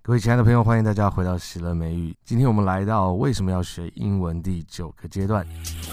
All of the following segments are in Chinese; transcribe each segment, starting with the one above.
各位亲爱的朋友，欢迎大家回到喜乐美语。今天我们来到为什么要学英文第9个阶段。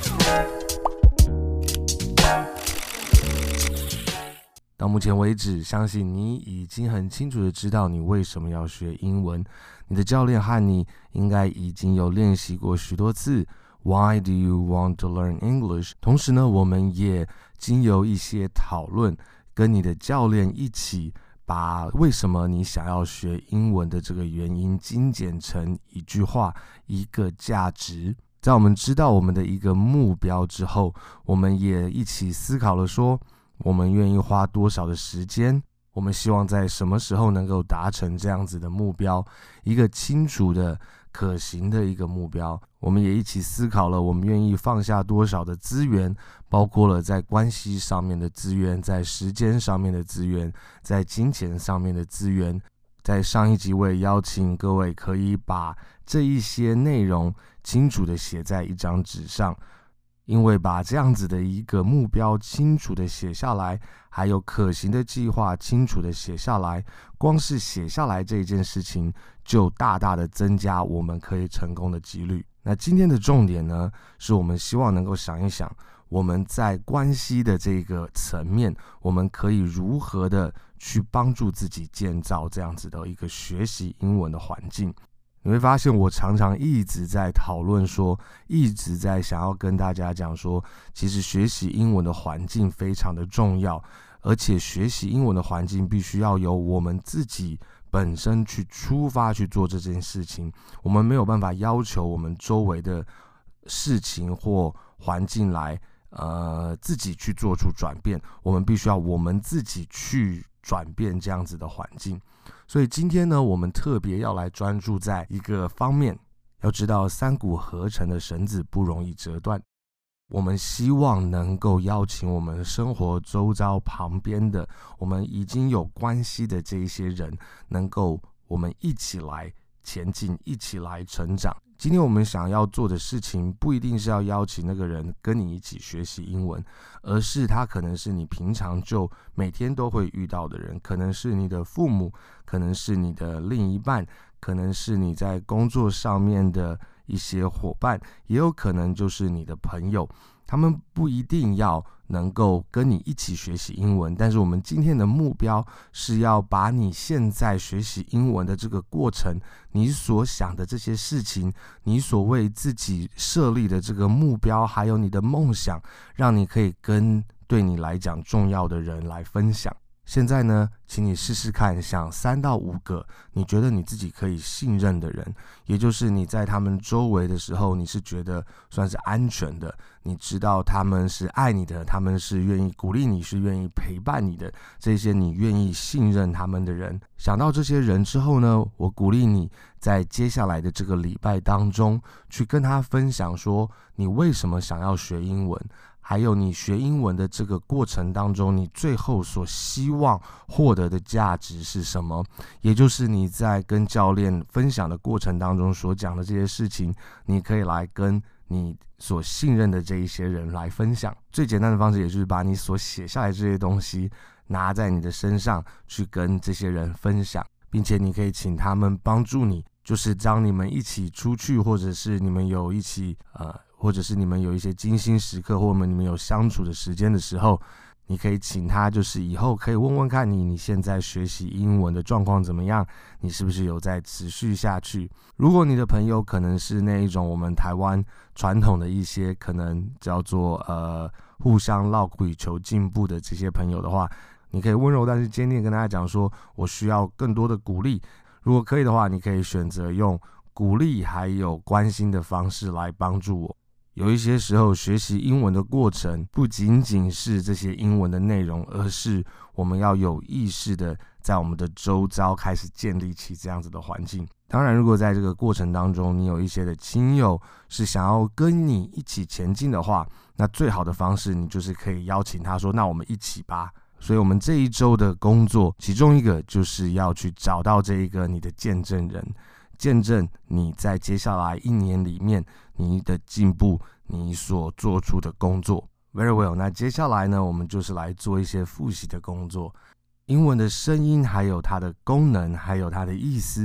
到目前为止，相信你已经很清楚的知道你为什么要学英文。你的教练和你应该已经有练习过许多次 Why do you want to learn English？ 同时呢，我们也经由一些讨论，跟你的教练一起把为什么你想要学英文的这个原因精简成一句话，一个价值。在我们知道我们的一个目标之后，我们也一起思考了说，我们愿意花多少的时间，我们希望在什么时候能够达成这样子的目标，一个清楚的可行的一个目标。我们也一起思考了我们愿意放下多少的资源，包括了在关系上面的资源，在时间上面的资源，在金钱上面的资源。在上一集我也邀请各位可以把这一些内容清楚的写在一张纸上，因为把这样子的一个目标清楚的写下来，还有可行的计划清楚的写下来，光是写下来这一件事情就大大的增加我们可以成功的几率。那今天的重点呢，是我们希望能够想一想，我们在关系的这个层面，我们可以如何的去帮助自己建造这样子的一个学习英文的环境。你会发现我常常一直在讨论说，一直在想要跟大家讲说，其实学习英文的环境非常的重要，而且学习英文的环境必须要由我们自己本身去出发去做这件事情。我们没有办法要求我们周围的事情或环境来自己去做出转变，我们必须要我们自己去转变这样子的环境。所以今天呢，我们特别要来专注在一个方面。要知道三股合成的绳子不容易折断，我们希望能够邀请我们生活周遭旁边的我们已经有关系的这一些人，能够我们一起来前进，一起来成长。今天我们想要做的事情不一定是要邀请那个人跟你一起学习英文，而是他可能是你平常就每天都会遇到的人，可能是你的父母，可能是你的另一半，可能是你在工作上面的一些伙伴，也有可能就是你的朋友。他们不一定要能够跟你一起学习英文，但是我们今天的目标是要把你现在学习英文的这个过程，你所想的这些事情，你所为自己设立的这个目标，还有你的梦想，让你可以跟对你来讲重要的人来分享。现在呢，请你试试看，想3到5个你觉得你自己可以信任的人，也就是你在他们周围的时候，你是觉得算是安全的，你知道他们是爱你的，他们是愿意鼓励你，是愿意陪伴你的，这些你愿意信任他们的人。想到这些人之后呢，我鼓励你在接下来的这个礼拜当中，去跟他分享说，你为什么想要学英文，还有你学英文的这个过程当中，你最后所希望获得的价值是什么，也就是你在跟教练分享的过程当中所讲的这些事情，你可以来跟你所信任的这一些人来分享。最简单的方式也就是把你所写下来这些东西拿在你的身上去跟这些人分享，并且你可以请他们帮助你，就是当你们一起出去，或者是你们有一起或者是你们有一些精心时刻，或者你们有相处的时间的时候，你可以请他，就是以后可以问问看你现在学习英文的状况怎么样，你是不是有在持续下去。如果你的朋友可能是那一种我们台湾传统的一些可能叫做互相落苦求进步的这些朋友的话，你可以温柔但是坚定跟大家讲说，我需要更多的鼓励。如果可以的话，你可以选择用鼓励还有关心的方式来帮助我。有一些时候学习英文的过程不仅仅是这些英文的内容，而是我们要有意识的在我们的周遭开始建立起这样子的环境。当然如果在这个过程当中你有一些的亲友是想要跟你一起前进的话，那最好的方式你就是可以邀请他说，那我们一起吧。所以我们这一周的工作其中一个就是要去找到这一个你的见证人，见证你在接下来1年里面你的进步，你所做出的工作。 Very well， 那接下来呢，我们就是来做一些复习的工作。英文的声音还有它的功能还有它的意思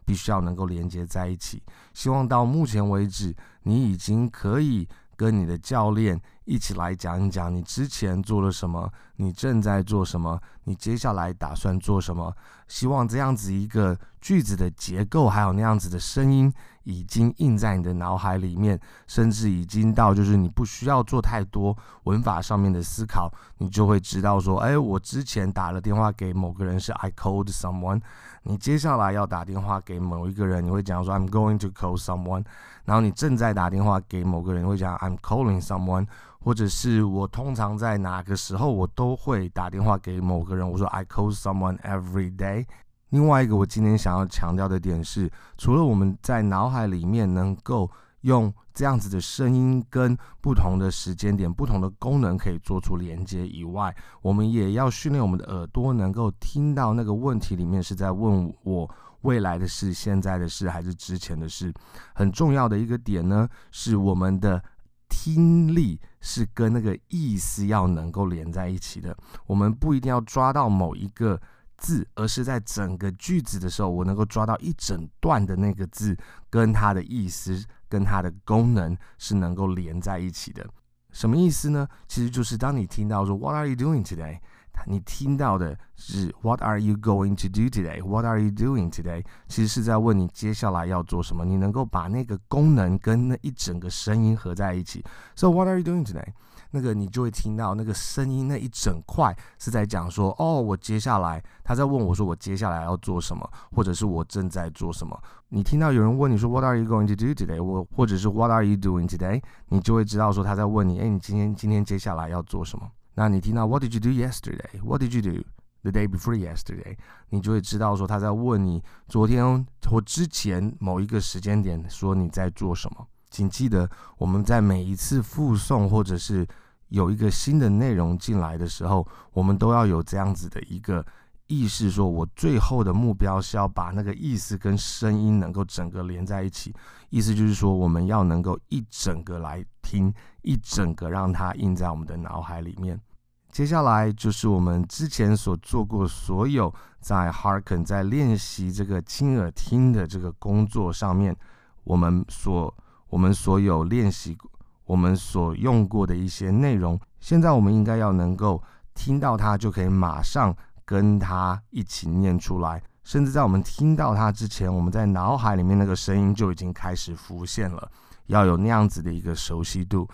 必须要能够连接在一起。希望到目前为止，你已经可以跟你的教练一起来讲一讲你之前做了什么，你正在做什么，你接下来打算做什么。希望这样子一个句子的结构还有那样子的声音已经印在你的脑海里面，甚至已经到就是你不需要做太多文法上面的思考，你就会知道说，我之前打了电话给某个人是 I called someone， 你接下来要打电话给某一个人，你会讲说 I'm going to call someone， 然后你正在打电话给某个人，你会讲 I'm calling someone， 或者是我通常在哪个时候我都会打电话给某个人，我说 I call someone every day。另外一个我今天想要强调的点是，除了我们在脑海里面能够用这样子的声音跟不同的时间点、不同的功能可以做出连接以外，我们也要训练我们的耳朵能够听到那个问题里面是在问我未来的事、现在的事还是之前的事。很重要的一个点呢，是我们的听力是跟那个意思要能够连在一起的。我们不一定要抓到某一个字，而是在整个句子的时候，我能够抓到一整段的那个字跟它的意思跟它的功能是能够连在一起的。什么意思呢？其实就是当你听到说 What are you doing today？ 你听到的是 What are you going to do today？ What are you doing today？ 其实是在问你接下来要做什么，你能够把那个功能跟那一整个声音合在一起。 So what are you doing today？那个你就会听到那个声音那一整块是在讲说，我接下来他在问我说我接下来要做什么，或者是我正在做什么。你听到有人问你说 What are you going to do today？ 或者是 What are you doing today？ 你就会知道说他在问你，你今天接下来要做什么。那你听到 What did you do yesterday？ What did you do the day before yesterday？ 你就会知道说他在问你昨天或之前某一个时间点说你在做什么。请记得，我们在每一次复诵或者是有一个新的内容进来的时候，我们都要有这样子的一个意识，说我最后的目标是要把那个意思跟声音能够整个连在一起。意思就是说，我们要能够一整个来听，一整个让它印在我们的脑海里面。接下来就是我们之前所做过所有在 Hearken 在练习这个亲耳听的这个工作上面，我们所有练习我们所用过的一些内容，现在我们应该要能够听到它，就可以马上跟它一起念出来，甚至在我们听到它之前，我们在脑海里面那个声音就已经开始浮现了，要有那样子的一个熟悉度。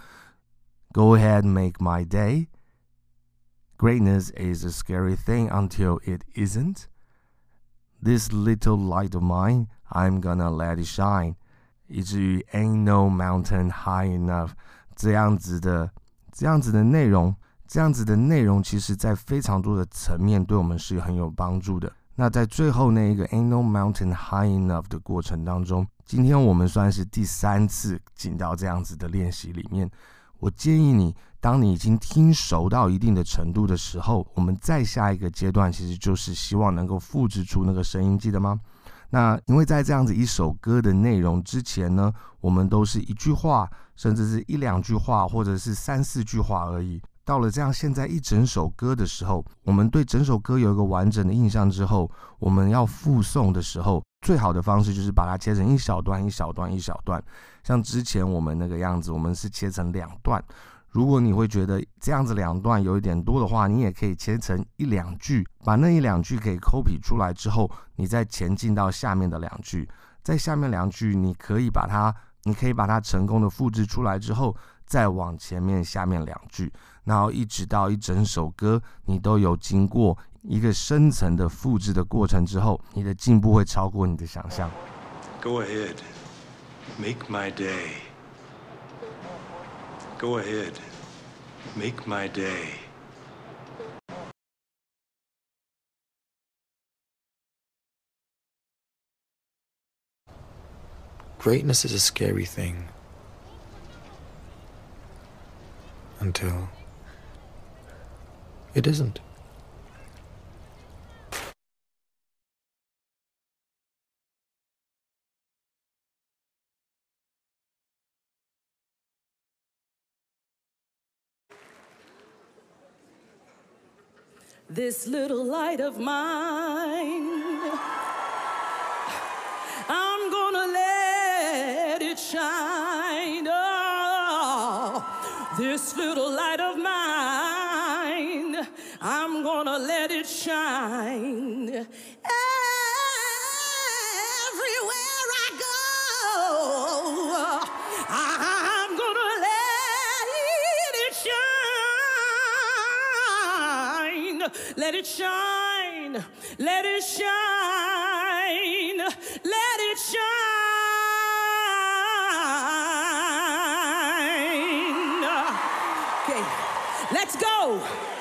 Go ahead, make my day. Greatness is a scary thing until it isn't. This little light of mine, I'm gonna let it shine. 以至于 ain't no mountain high enough， 这样子的内容，其实在非常多的层面对我们是很有帮助的。那在最后那一个 ain't no mountain high enough 的过程当中，今天我们算是第3次进到这样子的练习里面。我建议你，当你已经听熟到一定的程度的时候，我们再下一个阶段其实就是希望能够复制出那个声音，记得吗？那因为在这样子一首歌的内容之前呢，我们都是一句话，甚至是1-2句话，或者是3-4句话而已。到了这样现在一整首歌的时候，我们对整首歌有一个完整的印象之后，我们要复诵的时候，最好的方式就是把它切成一小段一小段一小段。像之前我们那个样子，我们是切成2段。如果你会觉得这样子2段有一点多的话，你也可以切成1-2句，把那1-2句可以 copy 出来之后，你再前进到下面的2句，在下面2句你可以把它成功的复制出来之后，再往前面下面2句，然后一直到一整首歌你都有经过一个深层的复制的过程之后，你的进步会超过你的想象。 Go ahead, make my day. Go ahead, make my day. Greatness is a scary thing until it isn't. This little light of mine, This little light of mine, I'm gonna let it shine. Everywhere I go, I'm gonna let it shine. Let it shine. Let it shine. Let it shine. Okay, let's go.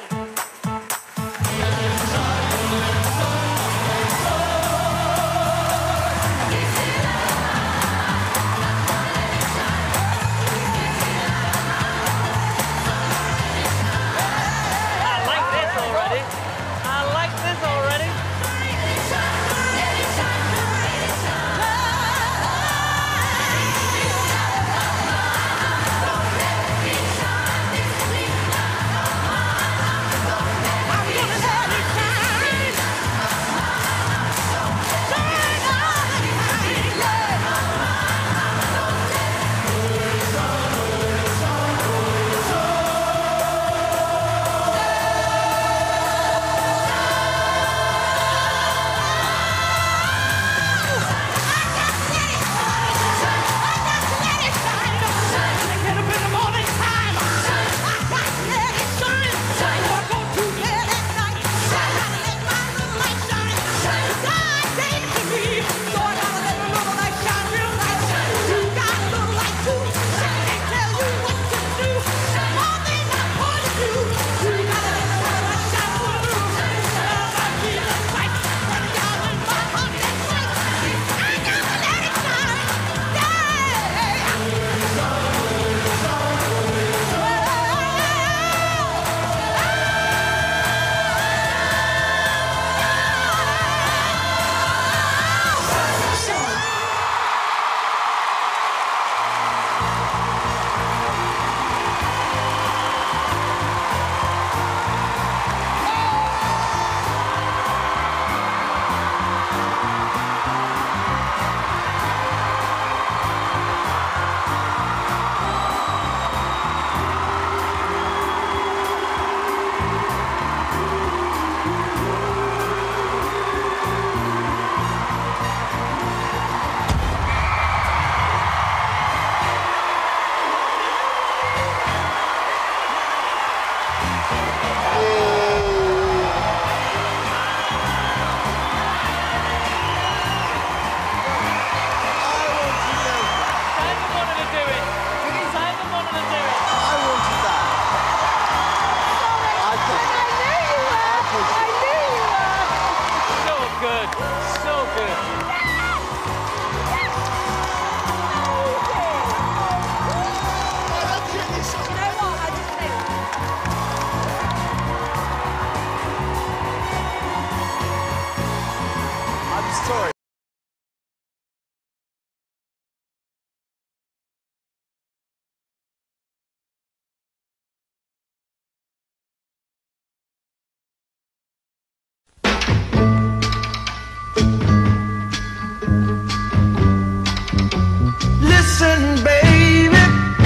Listen, baby,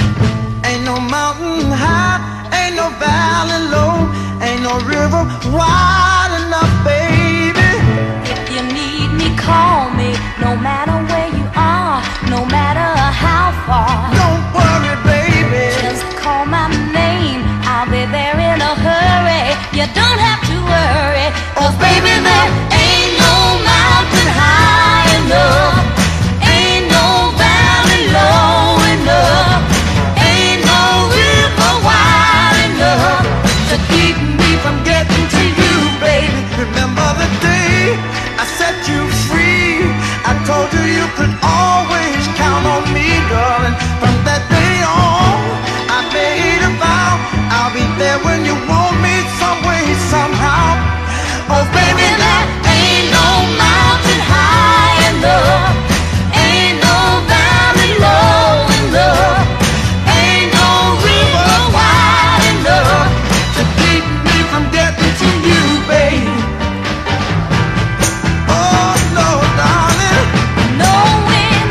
ain't no mountain high, ain't no valley low, ain't no river wide enough, baby. If you need me, call me, no matter where you are, no matter how far. Don't worry, baby, Just call my name, I'll be there in a hurry. You don't have to worry, 'cause baby, there ain't no mountain high enough, ain't no valley low enough, ain't no river wide enough to keep me from getting to you, baby. remember the day I set you free. I told you you could always count on me, darling. From that day on, I made a vow I'll be there when you want me, some way, somehow. Oh, baby, There ain't no mountain high enough, ain't no valley low enough, ain't no river wide enough to keep me from getting to you, baby. Oh, no, darling. knowing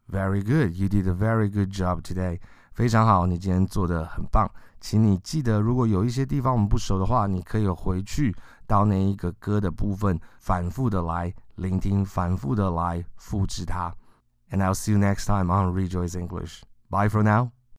Very good. You did a very good job today. 非常好，你今天做得很棒。请你记得，如果有一些地方我们不熟的话，你可以回去到那一个歌的部分，反复的来聆听，反复的来复制它。And I'll see you next time on Rejoice English. Bye for now.